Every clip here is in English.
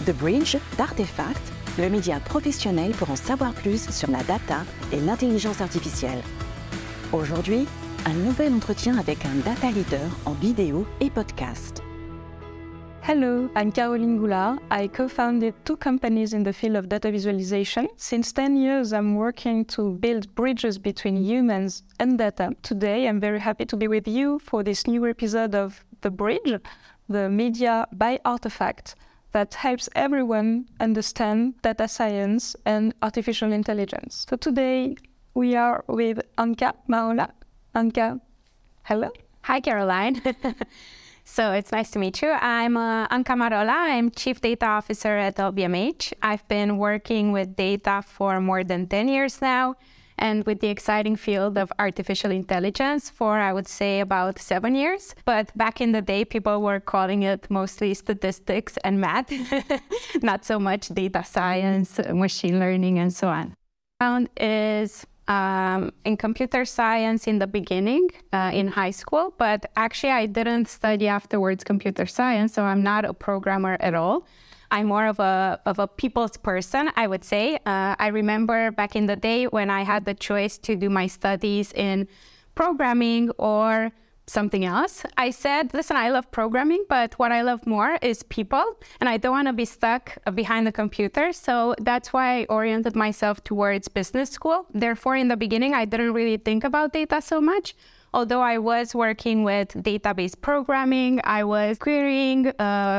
The Bridge d'Artefact, le média professionnel pour en savoir plus sur la data et l'intelligence artificielle. Aujourd'hui, un nouvel entretien avec un data leader en vidéo et podcast. Hello, I'm Caroline Goulard. I co-founded 2 companies in the field of data visualization. Since 10 years, I'm working to build bridges between humans and data. Today, I'm very happy to be with you for this new episode of The Bridge, the media by Artefact that helps everyone understand data science and artificial intelligence. So today, we are with Anka Marola. Anka, hello. Hi, Caroline. So it's nice to meet you. I'm Anka Marola. I'm Chief Data Officer at LVMH. I've been working with data for more than 10 years now, and with the exciting field of artificial intelligence for, I would say, about 7 years. But back in the day, people were calling it mostly statistics and math, not so much data science, machine learning, and so on. Background is in computer science in the beginning, in high school, but actually I didn't study afterwards computer science, so I'm not a programmer at all. I'm more of a people's person, I would say. I remember back in the day when I had the choice to do my studies in programming or something else. I said, listen, I love programming, but what I love more is people, and I don't want to be stuck behind the computer. So that's why I oriented myself towards business school. Therefore, in the beginning, I didn't really think about data so much. Although I was working with database programming, I was querying,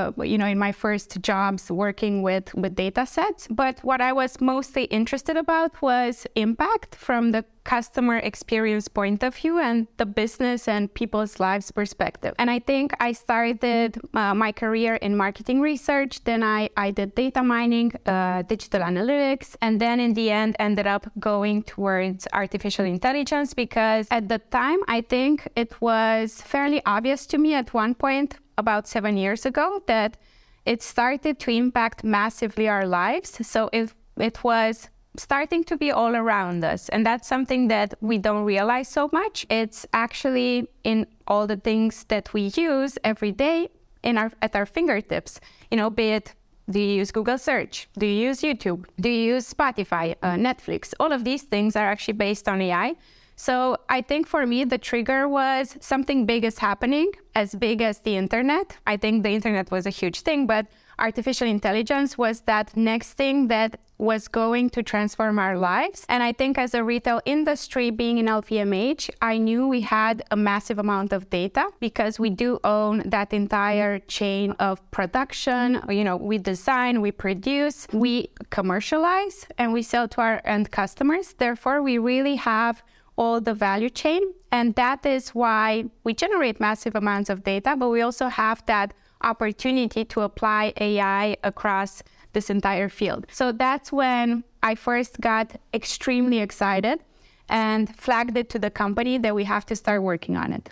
in my first jobs working with data sets. But what I was mostly interested about was impact from the customer experience point of view and the business and people's lives perspective. And I think I started my career in marketing research. Then I did data mining, digital analytics, and then in the end ended up going towards artificial intelligence because at the time, I think it was fairly obvious to me at one point about 7 years ago that it started to impact massively our lives. So it was starting to be all around us. And that's something that we don't realize so much. It's actually in all the things that we use every day at our fingertips. Be it, do you use Google Search? Do you use YouTube? Do you use Spotify, Netflix? All of these things are actually based on AI. So I think for me, the trigger was something big is happening, as big as the internet. I think the internet was a huge thing, but artificial intelligence was that next thing that was going to transform our lives. And I think as a retail industry, being in LVMH, I knew we had a massive amount of data because we do own that entire chain of production. We design, we produce, we commercialize, and we sell to our end customers. Therefore, we really have all the value chain. And that is why we generate massive amounts of data, but we also have that opportunity to apply AI across this entire field. So that's when I first got extremely excited and flagged it to the company that we have to start working on it.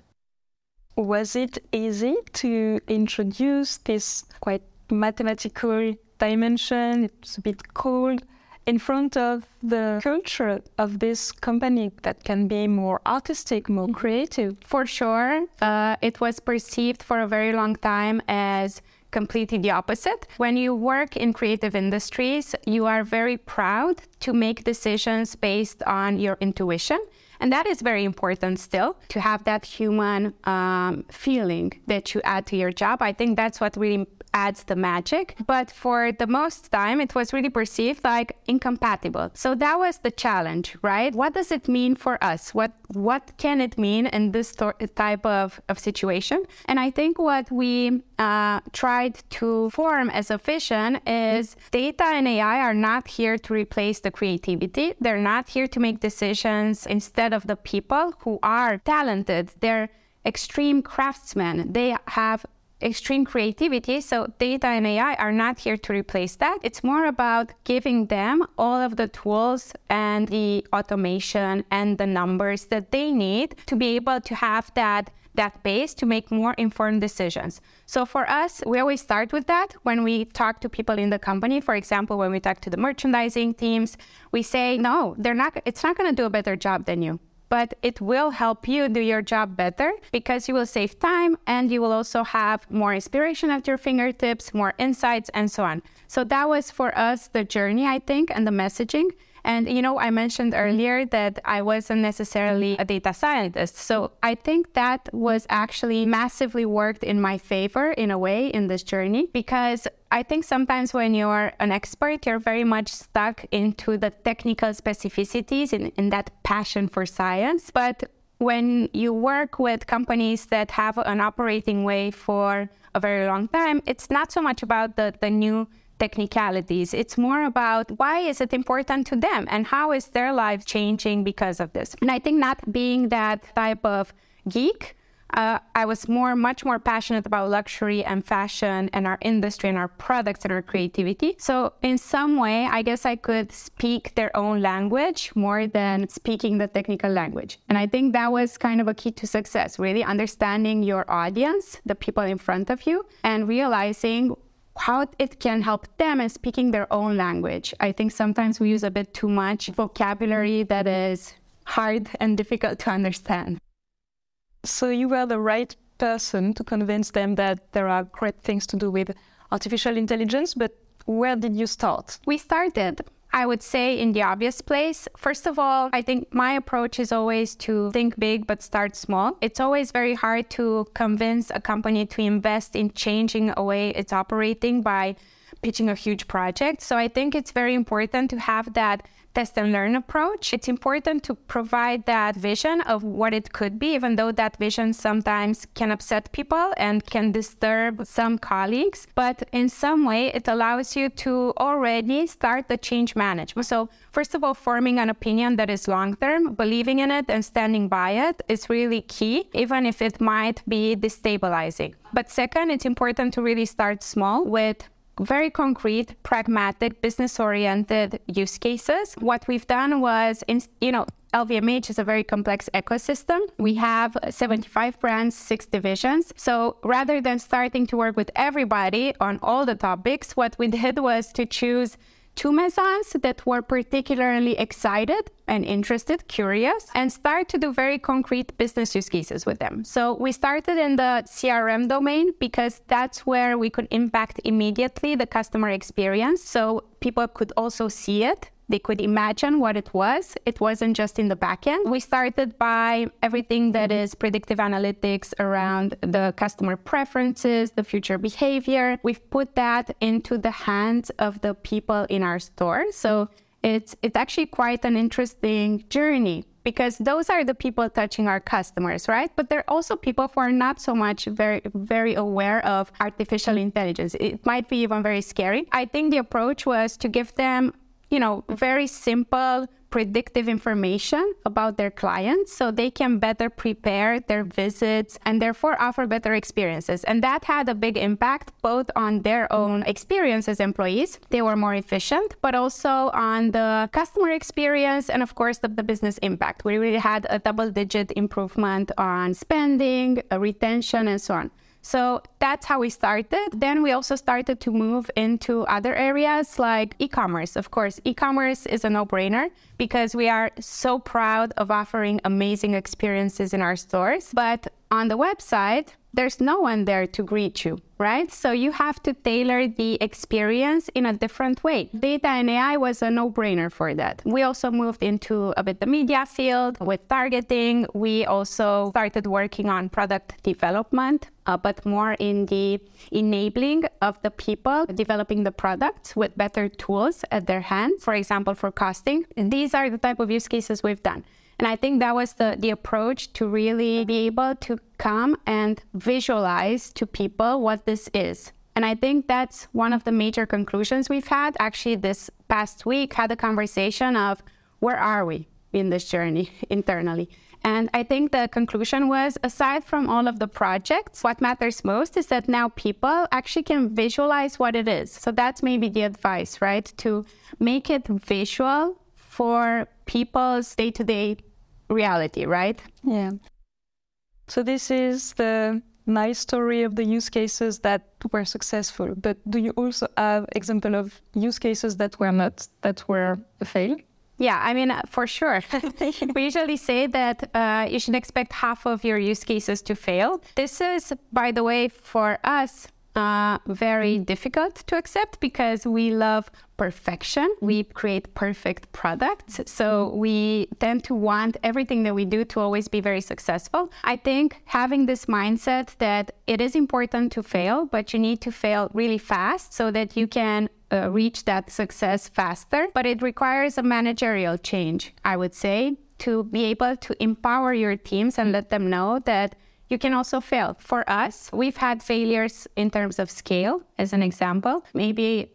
Was it easy to introduce this quite mathematical dimension? It's a bit cold in front of the culture of this company that can be more artistic, more creative? For sure. It was perceived for a very long time as completely the opposite. When you work in creative industries, you are very proud to make decisions based on your intuition. And that is very important still, to have that human feeling that you add to your job. I think that's what really adds the magic. But for the most time, it was really perceived like incompatible. So that was the challenge, right? What does it mean for us? What can it mean in this type of situation? And I think what we tried to form as a vision is data and AI are not here to replace the creativity. They're not here to make decisions instead of the people who are talented. They're extreme craftsmen. They have extreme creativity. So data and AI are not here to replace that. It's more about giving them all of the tools and the automation and the numbers that they need to be able to have that base to make more informed decisions. So for us, we always start with that when we talk to people in the company. For example, when we talk to the merchandising teams, we say, no, it's not going to do a better job than you. but it will help you do your job better because you will save time and you will also have more inspiration at your fingertips, more insights, and so on. So that was for us the journey, I think, and the messaging. And, I mentioned earlier that I wasn't necessarily a data scientist. So I think that was actually massively worked in my favor in a way in this journey, because I think sometimes when you're an expert, you're very much stuck into the technical specificities in that passion for science. But when you work with companies that have an operating way for a very long time, it's not so much about the new technicalities. It's more about why is it important to them and how is their life changing because of this. And I think not being that type of geek, I was much more passionate about luxury and fashion and our industry and our products and our creativity. So in some way, I guess I could speak their own language more than speaking the technical language. And I think that was kind of a key to success, really understanding your audience, the people in front of you, and realizing how it can help them and speaking their own language. I think sometimes we use a bit too much vocabulary that is hard and difficult to understand. So you were the right person to convince them that there are great things to do with artificial intelligence, but where did you start? We started, I would say, in the obvious place. First of all, I think my approach is always to think big but start small. It's always very hard to convince a company to invest in changing a way it's operating by pitching a huge project. So I think it's very important to have that test and learn approach. It's important to provide that vision of what it could be, even though that vision sometimes can upset people and can disturb some colleagues. But in some way, it allows you to already start the change management. So first of all, forming an opinion that is long-term, believing in it and standing by it is really key, even if it might be destabilizing. But second, it's important to really start small with very concrete, pragmatic, business-oriented use cases. What we've done was, LVMH is a very complex ecosystem. We have 75 brands, 6 divisions. So rather than starting to work with everybody on all the topics, what we did was to choose 2 maisons that were particularly excited and interested, curious, and start to do very concrete business use cases with them. So we started in the CRM domain because that's where we could impact immediately the customer experience. So people could also see it. They could imagine what it was. It wasn't just in the back end. We started by everything that is predictive analytics around the customer preferences, the future behavior. We've put that into the hands of the people in our store. So it's actually quite an interesting journey because those are the people touching our customers, right? But they're also people who are not so much very, very aware of artificial intelligence. It might be even very scary. I think the approach was to give them very simple, predictive information about their clients so they can better prepare their visits and therefore offer better experiences. And that had a big impact both on their own experience as employees. They were more efficient, but also on the customer experience and, of course, the business impact. We really had a double-digit improvement on spending, retention, and so on. So that's how we started. Then we also started to move into other areas like e-commerce. Of course, e-commerce is a no-brainer because we are so proud of offering amazing experiences in our stores. But on the website, there's no one there to greet you, right? So you have to tailor the experience in a different way. Data and AI was a no-brainer for that. We also moved into a bit the media field with targeting. We also started working on product development, but more in the enabling of the people developing the products with better tools at their hands, for example, for costing. And these are the type of use cases we've done. And I think that was the approach to really be able to come and visualize to people what this is. And I think that's one of the major conclusions we've had. Actually, this past week, had a conversation of where are we in this journey internally? And I think the conclusion was, aside from all of the projects, what matters most is that now people actually can visualize what it is. So that's maybe the advice, right? To make it visual for people's day-to-day reality, right? Yeah. So this is the nice story of the use cases that were successful. But do you also have example of use cases that were not, that were a fail? Yeah, I mean, for sure. We usually say that you should expect half of your use cases to fail. This is, by the way, for us, very difficult to accept because we love perfection. We create perfect products. So we tend to want everything that we do to always be very successful. I think having this mindset that it is important to fail, but you need to fail really fast so that you can reach that success faster. But it requires a managerial change, I would say, to be able to empower your teams and let them know that you can also fail. For us, we've had failures in terms of scale, as an example. Maybe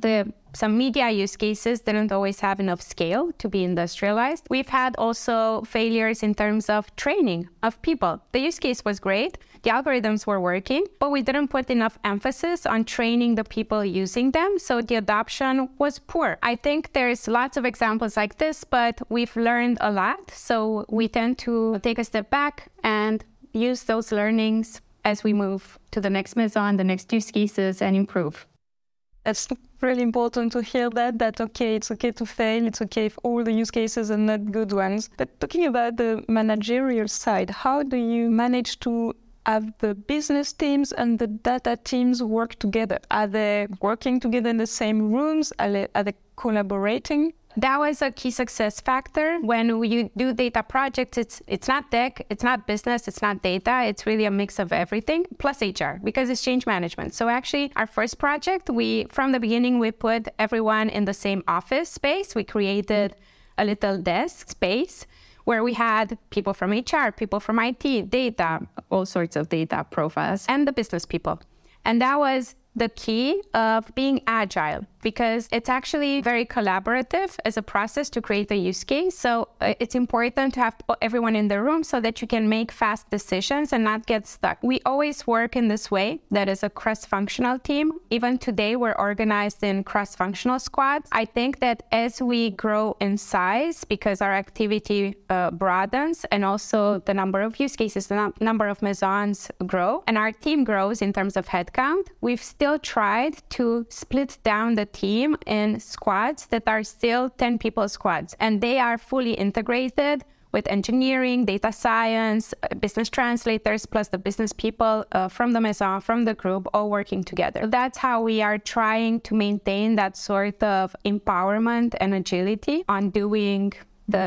some media use cases didn't always have enough scale to be industrialized. We've had also failures in terms of training of people. The use case was great, the algorithms were working, but we didn't put enough emphasis on training the people using them, so the adoption was poor. I think there's lots of examples like this, but we've learned a lot, so we tend to take a step back and use those learnings as we move to the next Maison, the next use cases, and improve. It's really important to hear that okay, it's okay to fail, it's okay if all the use cases are not good ones. But talking about the managerial side, how do you manage to have the business teams and the data teams work together? Are they working together in the same rooms? Are they collaborating? That was a key success factor. When you do data projects, it's not tech, it's not business, it's not data. It's really a mix of everything, plus HR, because it's change management. So actually, our first project, from the beginning, we put everyone in the same office space. We created a little desk space where we had people from HR, people from IT, data, all sorts of data profiles, and the business people. And that was the key of being agile, because it's actually very collaborative as a process to create a use case. So it's important to have everyone in the room so that you can make fast decisions and not get stuck. We always work in this way, that is a cross-functional team. Even today, we're organized in cross-functional squads. I think that as we grow in size, because our activity broadens and also the number of use cases, the number of Maisons grow, and our team grows in terms of headcount, we've still tried to split down the team in squads that are still 10 people squads, and they are fully integrated with engineering, data science, business translators, plus the business people from the Maison, from the group, all working together. That's how we are trying to maintain that sort of empowerment and agility on doing the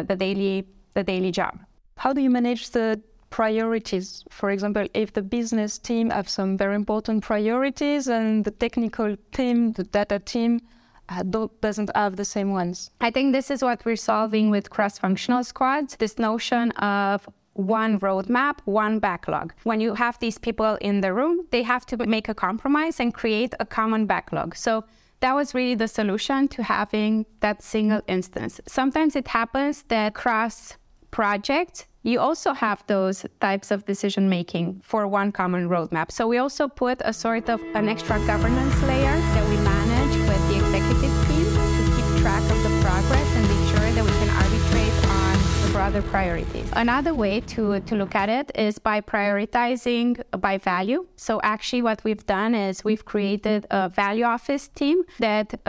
daily job. How do you manage the priorities? For example, if the business team have some very important priorities and the technical team, the data team, doesn't have the same ones. I think this is what we're solving with cross-functional squads, this notion of one roadmap, one backlog. When you have these people in the room, they have to make a compromise and create a common backlog. So that was really the solution to having that single instance. Sometimes it happens that cross-project, you also have those types of decision-making for one common roadmap. So we also put a sort of an extra governance layer that we manage with the executive team to keep track of the progress and make sure that we can arbitrate on the broader priorities. Another way to look at it is by prioritizing by value. So actually what we've done is we've created a value office team that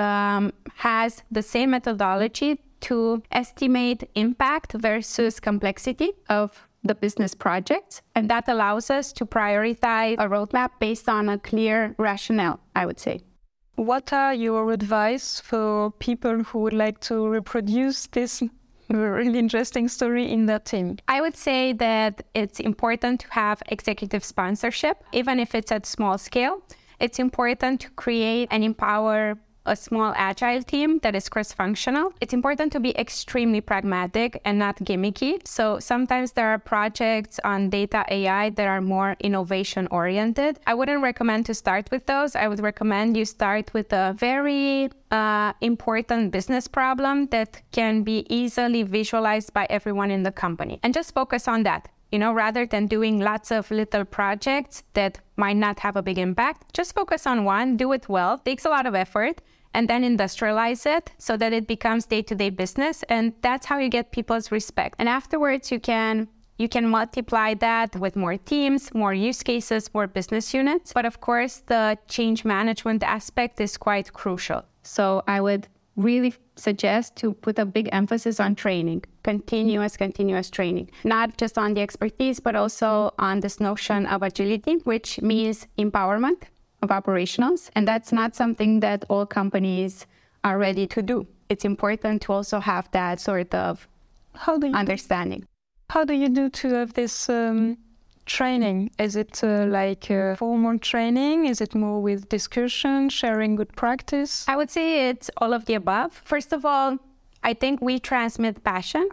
has the same methodology to estimate impact versus complexity of the business project. And that allows us to prioritize a roadmap based on a clear rationale, I would say. What are your advice for people who would like to reproduce this really interesting story in their team? I would say that it's important to have executive sponsorship, even if it's at small scale. It's important to create and empower a small agile team that is cross-functional. It's important to be extremely pragmatic and not gimmicky. So sometimes there are projects on data AI that are more innovation-oriented. I wouldn't recommend to start with those. I would recommend you start with a very important business problem that can be easily visualized by everyone in the company. And just focus on that. Rather than doing lots of little projects that might not have a big impact, just focus on one, do it well, it takes a lot of effort, and then industrialize it so that it becomes day-to-day business. And that's how you get people's respect. And afterwards, you can multiply that with more teams, more use cases, more business units. But of course, the change management aspect is quite crucial. So I would really suggest to put a big emphasis on training, continuous training, not just on the expertise, but also on this notion of agility, which means empowerment of operationals. And that's not something that all companies are ready to do. It's important to also have that sort of understanding. How do you do to have this training? Is it like formal training? Is it more with discussion, sharing good practice? I would say it's all of the above. First of all, I think we transmit passion.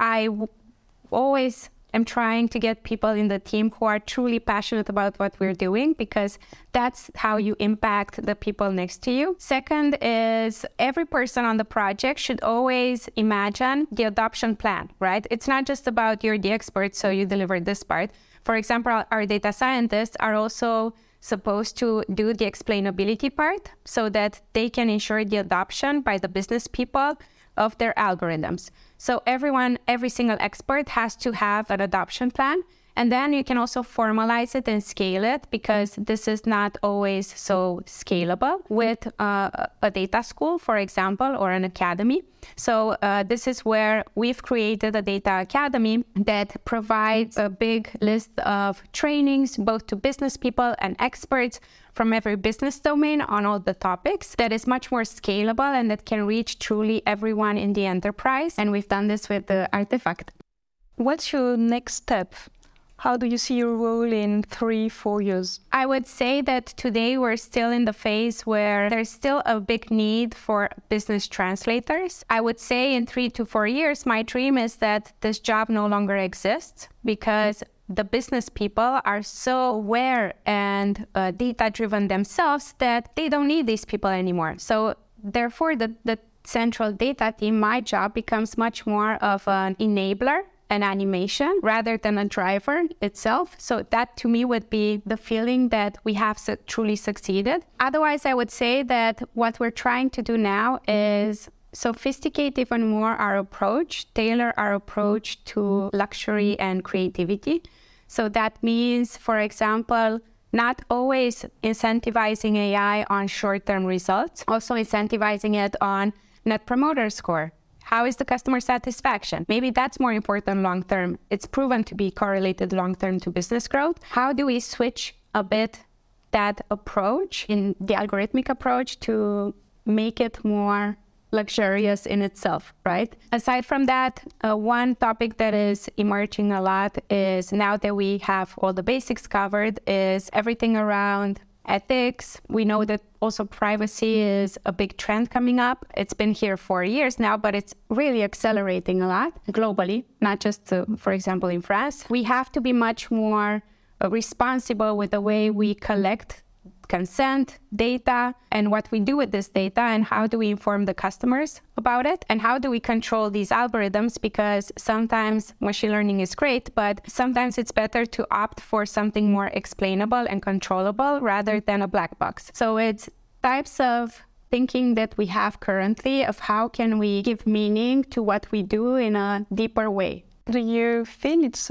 Always am trying to get people in the team who are truly passionate about what we're doing, because that's how you impact the people next to you. Second is every person on the project should always imagine the adoption plan, right? It's not just about you're the expert, so you deliver this part. For example, our data scientists are also supposed to do the explainability part so that they can ensure the adoption by the business people of their algorithms. So every single expert has to have an adoption plan. And then you can also formalize it and scale it, because this is not always so scalable with a data school, for example, or an academy. So this is where we've created a data academy that provides a big list of trainings, both to business people and experts from every business domain on all the topics, that is much more scalable and that can reach truly everyone in the enterprise. And we've done this with the Artifact. What's your next step? How do you see your role in 3-4 years? I would say that today we're still in the phase where there's still a big need for business translators. I would say in 3 to 4 years, my dream is that this job no longer exists, because the business people are so aware and data-driven themselves that they don't need these people anymore. So therefore, the central data team, my job, becomes much more of an enabler, an animation, rather than a driver itself. So that to me would be the feeling that we have truly succeeded. Otherwise, I would say that what we're trying to do now is sophisticate even more our approach, tailor our approach to luxury and creativity. So that means, for example, not always incentivizing AI on short-term results, also incentivizing it on Net Promoter Score. How is the customer satisfaction? Maybe that's more important long-term. It's proven to be correlated long-term to business growth. How do we switch a bit that approach, in the algorithmic approach, to make it more luxurious in itself, right? Aside from that, one topic that is emerging a lot is, now that we have all the basics covered, is everything around ethics. We know that also privacy is a big trend coming up. It's been here for years now, but it's really accelerating a lot globally, not just, for example, in France. We have to be much more responsible with the way we collect consent, data, and what we do with this data, and how do we inform the customers about it, and how do we control these algorithms, because sometimes machine learning is great, but sometimes it's better to opt for something more explainable and controllable rather than a black box. So it's types of thinking that we have currently of how can we give meaning to what we do in a deeper way. Do you feel it's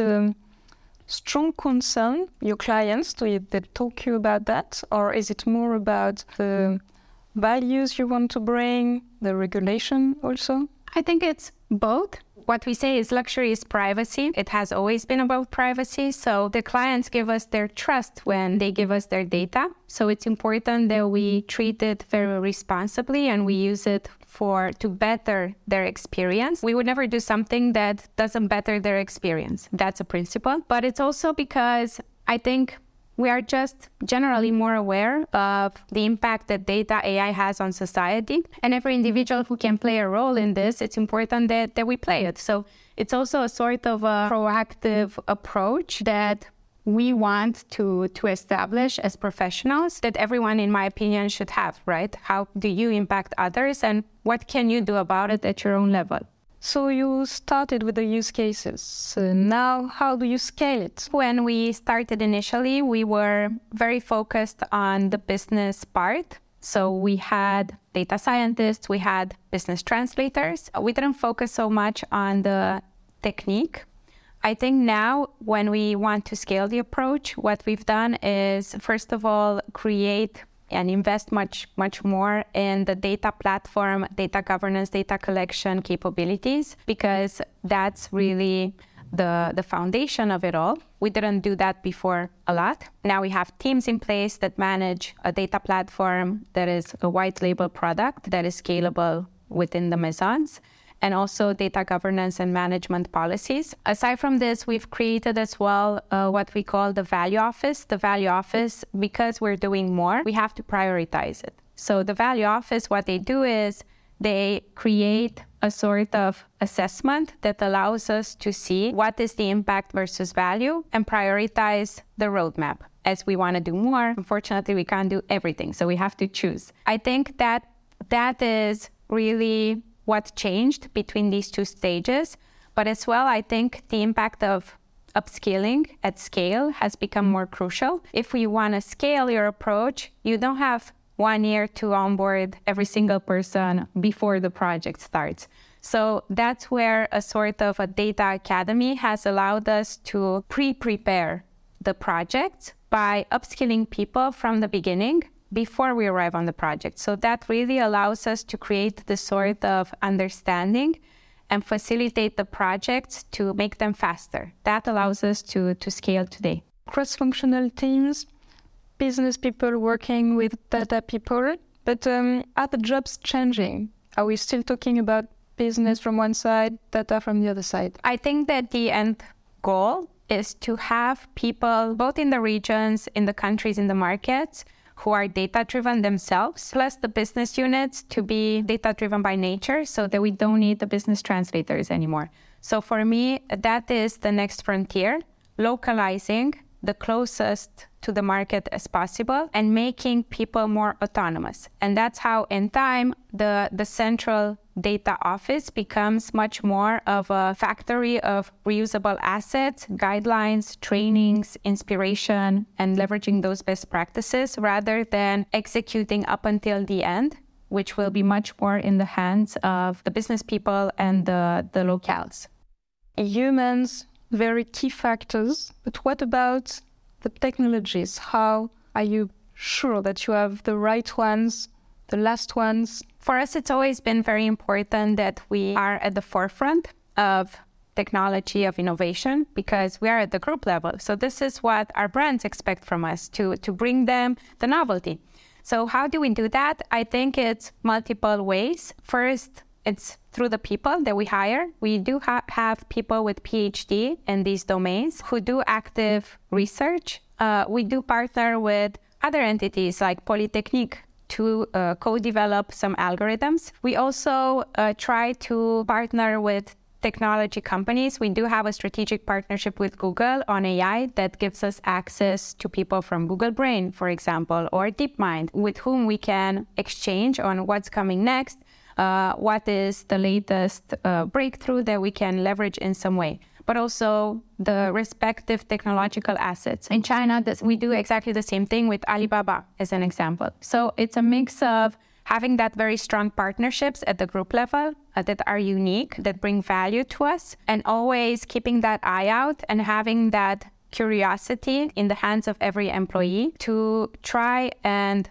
strong concern, your clients, do they talk to you about that? Or is it more about the values you want to bring, the regulation also? I think it's both. What we say is luxury is privacy. It has always been about privacy. So the clients give us their trust when they give us their data. So it's important that we treat it very responsibly and we use it to better their experience. We would never do something that doesn't better their experience. That's a principle. But it's also because I think we are just generally more aware of the impact that data AI has on society. And every individual who can play a role in this, it's important that we play it. So it's also a sort of a proactive approach that we want to establish as professionals, that everyone, in my opinion, should have, right? How do you impact others, and what can you do about it at your own level? So you started with the use cases. So now, how do you scale it? When we started initially, we were very focused on the business part. So we had data scientists, we had business translators. We didn't focus so much on the technique. I think now, when we want to scale the approach, what we've done is, first of all, create and invest much more in the data platform, data governance, data collection capabilities, because that's really the foundation of it all. We didn't do that before a lot. Now we have teams in place that manage a data platform that is a white label product that is scalable within the Maisons, and also data governance and management policies. Aside from this, we've created as well what we call the value office. The value office, because we're doing more, we have to prioritize it. So the value office, what they do is they create a sort of assessment that allows us to see what is the impact versus value and prioritize the roadmap. As we want to do more, unfortunately, we can't do everything, so we have to choose. I think that is really what changed between these two stages. But as well, I think the impact of upskilling at scale has become more crucial. If we want to scale your approach, you don't have 1 year to onboard every single person before the project starts. So that's where a sort of a data academy has allowed us to prepare the project by upskilling people from the beginning before we arrive on the project. So that really allows us to create this sort of understanding and facilitate the projects to make them faster. That allows us to scale today. Cross-functional teams, business people working with data people, but are the jobs changing? Are we still talking about business from one side, data from the other side? I think that the end goal is to have people, both in the regions, in the countries, in the markets, who are data-driven themselves, plus the business units to be data-driven by nature, so that we don't need the business translators anymore. So for me, that is the next frontier, localizing the closest to the market as possible and making people more autonomous. And that's how, in time, the central data office becomes much more of a factory of reusable assets, guidelines, trainings, inspiration, and leveraging those best practices rather than executing up until the end, which will be much more in the hands of the business people and the locales. Humans, very key factors, but what about the technologies? How are you sure that you have the right ones, the last ones? For us, it's always been very important that we are at the forefront of technology, of innovation, because we are at the group level. So this is what our brands expect from us, to bring them the novelty. So how do we do that? I think it's multiple ways. First, it's through the people that we hire. We do have people with PhD in these domains who do active research. We do partner with other entities like Polytechnique to co-develop some algorithms. We also try to partner with technology companies. We do have a strategic partnership with Google on AI that gives us access to people from Google Brain, for example, or DeepMind, with whom we can exchange on what's coming next, what is the latest breakthrough that we can leverage in some way, but also the respective technological assets. In China, we do exactly the same thing with Alibaba, as an example. So it's a mix of having that very strong partnerships at the group level that are unique, that bring value to us, and always keeping that eye out and having that curiosity in the hands of every employee to try and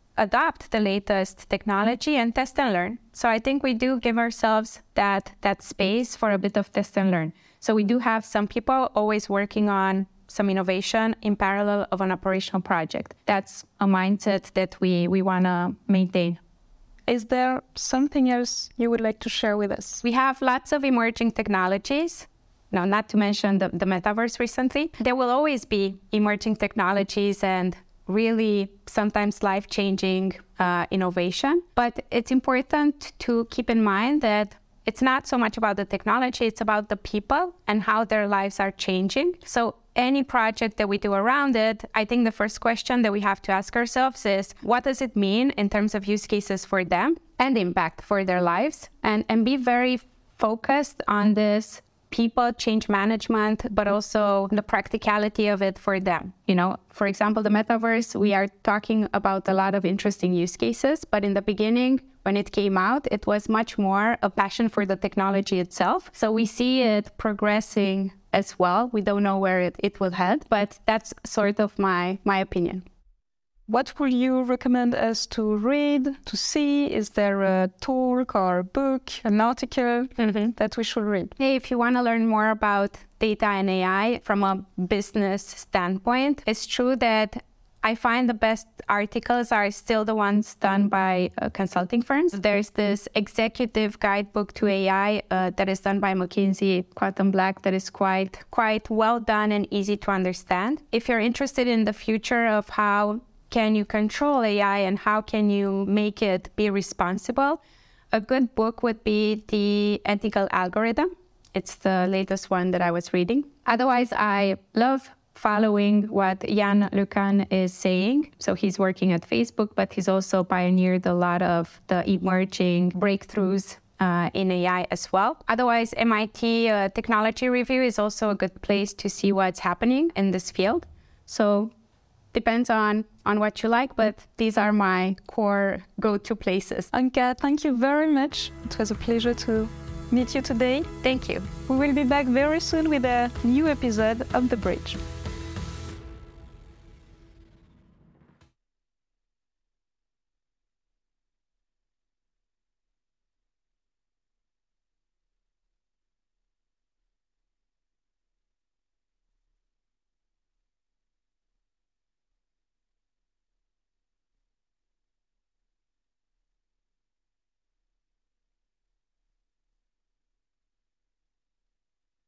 adopt the latest technology and test and learn. So I think we do give ourselves that space for a bit of test and learn. So we do have some people always working on some innovation in parallel of an operational project. That's a mindset that we want to maintain. Is there something else you would like to share with us? We have lots of emerging technologies. Now, not to mention the metaverse recently. There will always be emerging technologies and really sometimes life-changing innovation. But it's important to keep in mind that it's not so much about the technology, it's about the people and how their lives are changing. So any project that we do around it, I think the first question that we have to ask ourselves is, what does it mean in terms of use cases for them and impact for their lives? And be very focused on this people change management, but also the practicality of it for them. You know, for example, the metaverse, we are talking about a lot of interesting use cases, but in the beginning, when it came out, it was much more a passion for the technology itself. So we see it progressing as well. We don't know where it will head, but that's sort of my opinion. What would you recommend us to read, to see? Is there a talk or a book, an article that we should read? Hey, if you want to learn more about data and AI from a business standpoint, it's true that I find the best articles are still the ones done by consulting firms. There's this executive guidebook to AI that is done by McKinsey, Quantum Black, that is quite well done and easy to understand. If you're interested in the future of how can you control AI and how can you make it be responsible, a good book would be The Ethical Algorithm. It's the latest one that I was reading. Otherwise, I love following what Yann LeCun is saying. So he's working at Facebook, but he's also pioneered a lot of the emerging breakthroughs in AI as well. Otherwise, MIT Technology Review is also a good place to see what's happening in this field. So depends on what you like, but these are my core go-to places. Anka, thank you very much. It was a pleasure to meet you today. Thank you. We will be back very soon with a new episode of The Bridge.